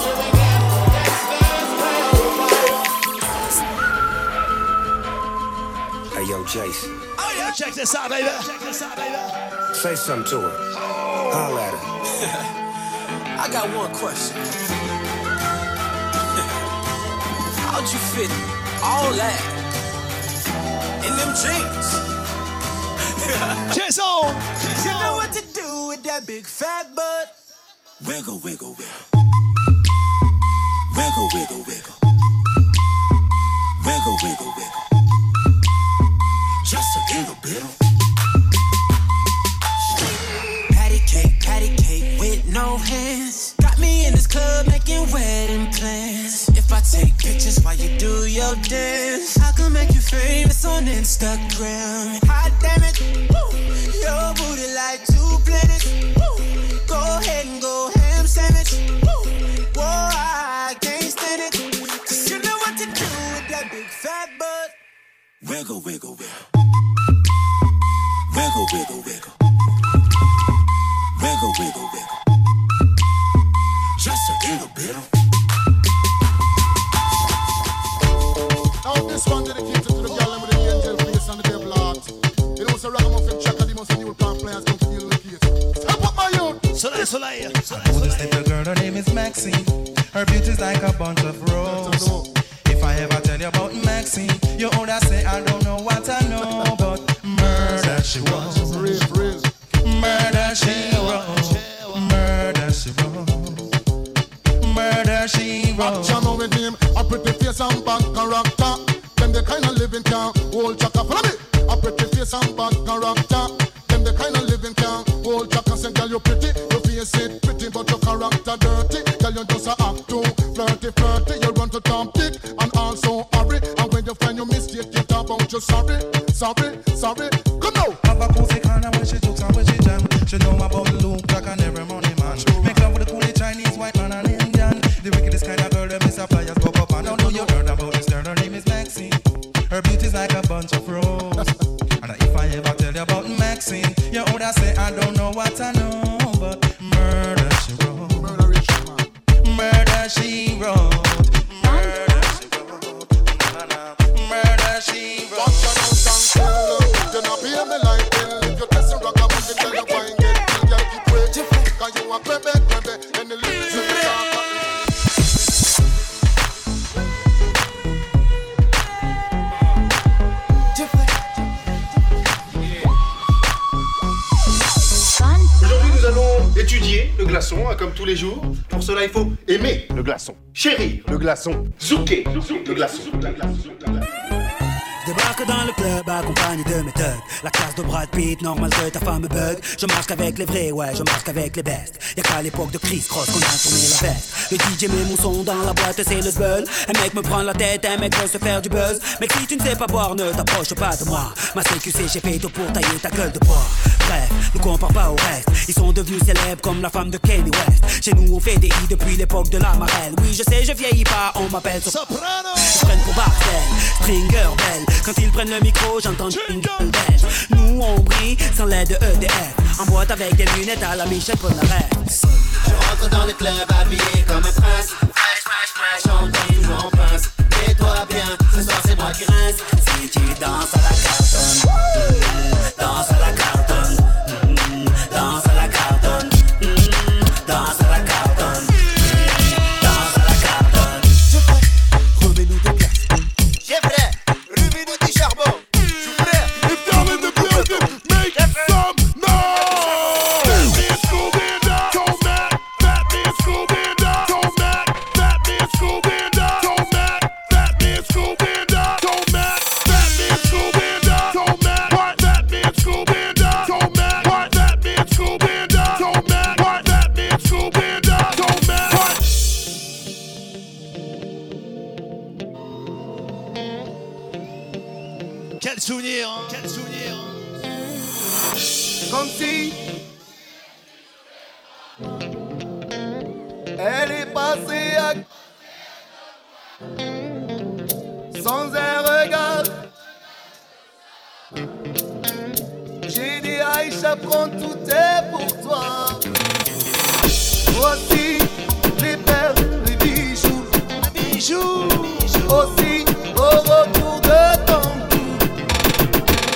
Jason. Oh yeah, check this out, baby. Say something to her. Holla at her. I got one question. How'd you fit all that in them jeans? Jason! You know what to do with that big fat butt. Wiggle, wiggle, wiggle. Wiggle, wiggle, wiggle. Wiggle, wiggle, wiggle. Just a little bit. Patty cake with no hands. Got me in this club making wedding plans. If I take pictures while you do your dance, I can make you famous on Instagram. Hot damn it, woo. Your booty like 2 planets. Woo. Go ahead and go ham sandwich. Woo. Whoa, I can't stand it. Cause you know what to do with that big fat butt. Wiggle, wiggle, wiggle. Wiggle, wiggle, wiggle. Wiggle, wiggle, wiggle. Just a little bit. Now this one dedicated to the girl with the angel face and the devil heart. You know, so Ragamuffin Chaka, the most new plant players come to deal with the case. Step up my youth! Soleil, soleil. Oh, this little girl, her name is Maxine. Her beauty's like a bunch of roses. If I ever tell you about Maxine, you oughta say I don't know what I know, but murder she wrote. Murder she wrote. Murder she wrote. Murder she wrote. Action with him, a pretty face and bad character. Them the kind of living can hold Chaka. Follow me. A pretty face and bad character. Them the kind of living can hold Chaka. Say, girl, you pretty, your face it pretty, but your character dirty. Girl, you just a act too flirty, flirty. You run to Tom Dick and also hurry. And when you find your mistake, you talk about you sorry, sorry, sorry. Come now. Have a cozy corner when she jokes and when she jam. She know about Luke, Jack and every money man. Make love with the coolie Chinese, white man and Indian. The wickedest kind of girl, them is a flyers pop up. And I know you heard about this girl, her name is Maxine. Her beauty's like a bunch of roses. And if I ever tell you about Maxine, you oughta say I don't know what I know, but murder she wrote. Murder she wrote. Murder she wrote. Murder she wrote. You know, be me like hell. If you test a rock, I'm going to tell you why. Get you gotta keep waiting. Cause you a crebe, and the lyrics you talk. Aujourd'hui, nous allons étudier le glaçon, comme tous les jours. Pour cela, il faut aimer le glaçon, chérir le glaçon, zouker le glaçon. Débarque dans le club accompagné de mes thugs. La classe de Brad Pitt, normal que ta femme me bug. Je marche qu'avec les vrais, ouais, je marche qu'avec les bestes. Y'a qu'à l'époque de Chris Cross qu'on a tourné la veste. Le DJ met mon son dans la boîte, c'est le zbeul. Un mec me prend la tête, un mec veut se faire du buzz. Mais si tu ne sais pas boire, ne t'approche pas de moi. Ma CQC, j'ai fait tout pour tailler ta gueule de bois. Bref, ne compare pas au reste. Ils sont devenus célèbres comme la femme de Kanye West. Chez nous on fait des i depuis l'époque de la marelle. Oui je sais je vieillis pas, on m'appelle Soprano. Ils prennent pour Barcel, Stringer Bell. Quand ils prennent le micro j'entends jingle belge. Nous on brille sans l'aide de EDF. En boîte avec des lunettes à la Michel Polnareff. Je rentre dans le club habillé comme un prince. Fresh, fresh, fresh, j'entends toujours en pince. Mets-toi bien, ce soir c'est moi qui rince. Si tu danses à la cartonne, danse à la cartonne, danse à la cartonne, danse à la cartonne, danse à la cartonne. Je fais, remets-nous des glaces. J'ai frère, remets-nous du charbon. Je frère, if y'all in the building, make some noise. Fat man Scooby Doo, Tomac. Fat man Scooby Doo, Tomac. Fat man Scooby Doo, Tomac. Fat man Scooby Doo, Tomac. Fat man Scooby Doo, Tomac. What? Fat man Scooby Doo, Tomac. What? Fat man Scooby Doo, Tomac. What? Fat man Scooby Doo, Tomac. What? Quel souvenir, hein? Quel souvenir. Comme si elle est passée à sans un regard. J'ai dit Aïcha, prends tout est pour toi. Voici les perles, les bijoux, aussi au retour de ton cou.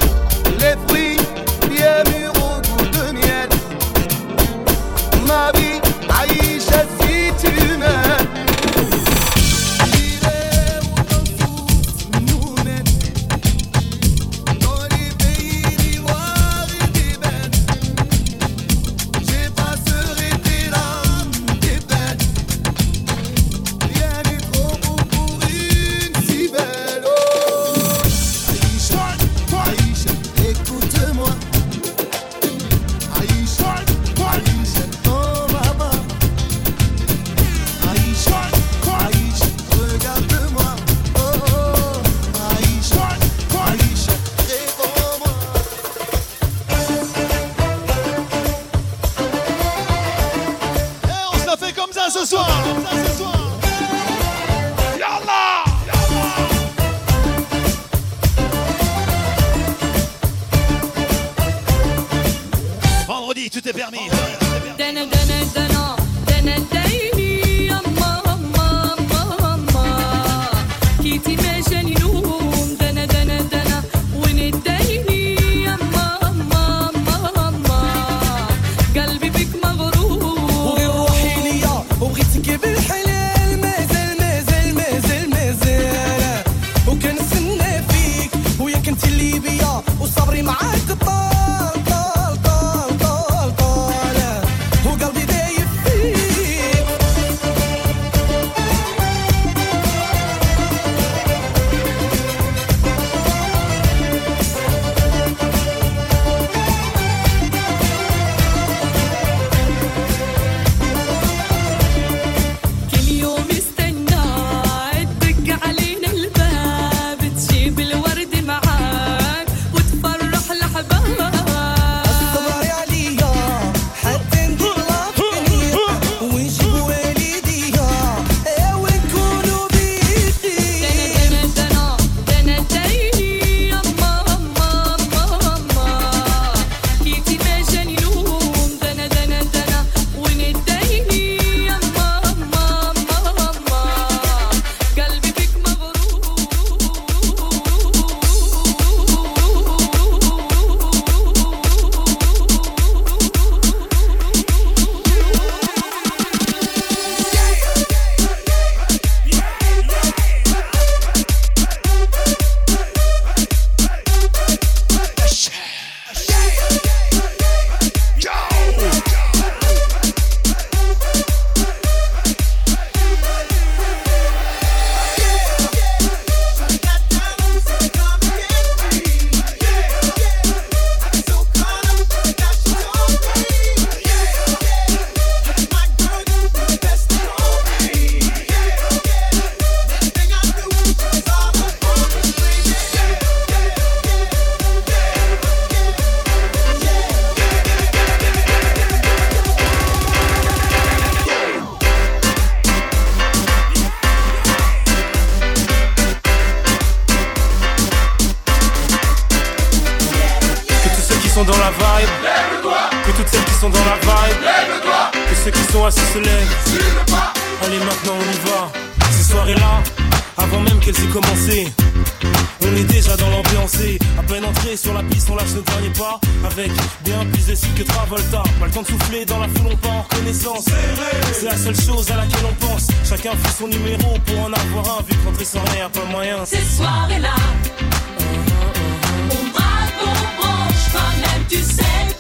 dans la vibe. Lève-toi. Que toutes celles qui sont dans la vibe. Lève-toi. Que ceux qui sont assis se lèvent. Sur le pas. Allez maintenant on y va. Ces soirées-là, avant même qu'elles aient commencé, on est déjà dans l'ambiance. À peine entré sur la piste, on lâche le dernier pas. Avec bien plus de style que Travolta. Pas le temps de souffler dans la foule, on part en reconnaissance. C'est la seule chose à laquelle on pense. Chacun fait son numéro pour en avoir un. Vu que rentrer sans rien, y'a pas moyen. Ces soirées-là, on braque, on branche. Quand même tu sais